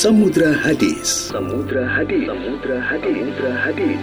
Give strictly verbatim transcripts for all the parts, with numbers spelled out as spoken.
Samudra Hadis. Samudra Hadis. Samudra Hadis. Samudra Hadis.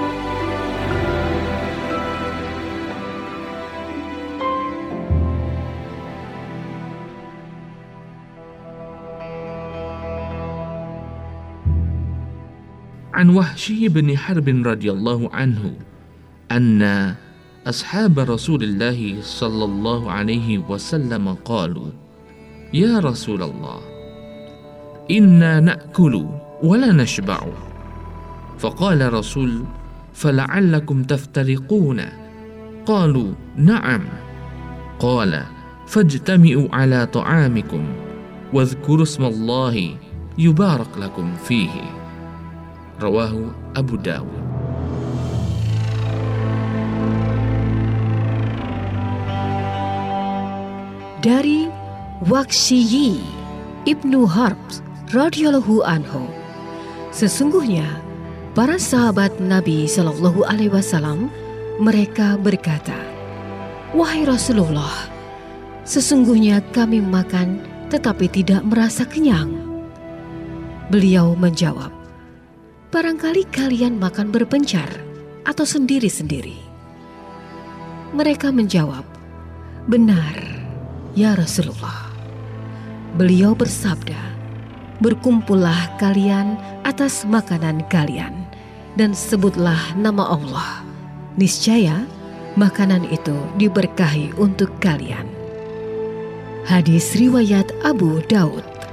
عن وحشي بن حرب رضي الله عنه أن أصحاب رسول الله صلى الله عليه وسلم قالوا يا رسول الله إنا نأكل ولا نشبع فقال رسول فلعلكم تفترقون قالوا نعم قال فاجتمعوا على طعامكم واذكروا اسم الله يبارك لكم فيه Rawahu Abu Dawud. Dari Waqsyi Ibnu Harb radhiyallahu anhu, sesungguhnya para sahabat Nabi Shallallahu Alaihi Wasallam mereka berkata, wahai Rasulullah, sesungguhnya kami makan tetapi tidak merasa kenyang. Beliau menjawab, barangkali kalian makan berpencar atau sendiri-sendiri. Mereka menjawab, benar, ya Rasulullah. Beliau bersabda, berkumpullah kalian atas makanan kalian dan sebutlah nama Allah. Niscaya makanan itu diberkahi untuk kalian. Hadis riwayat Abu Daud.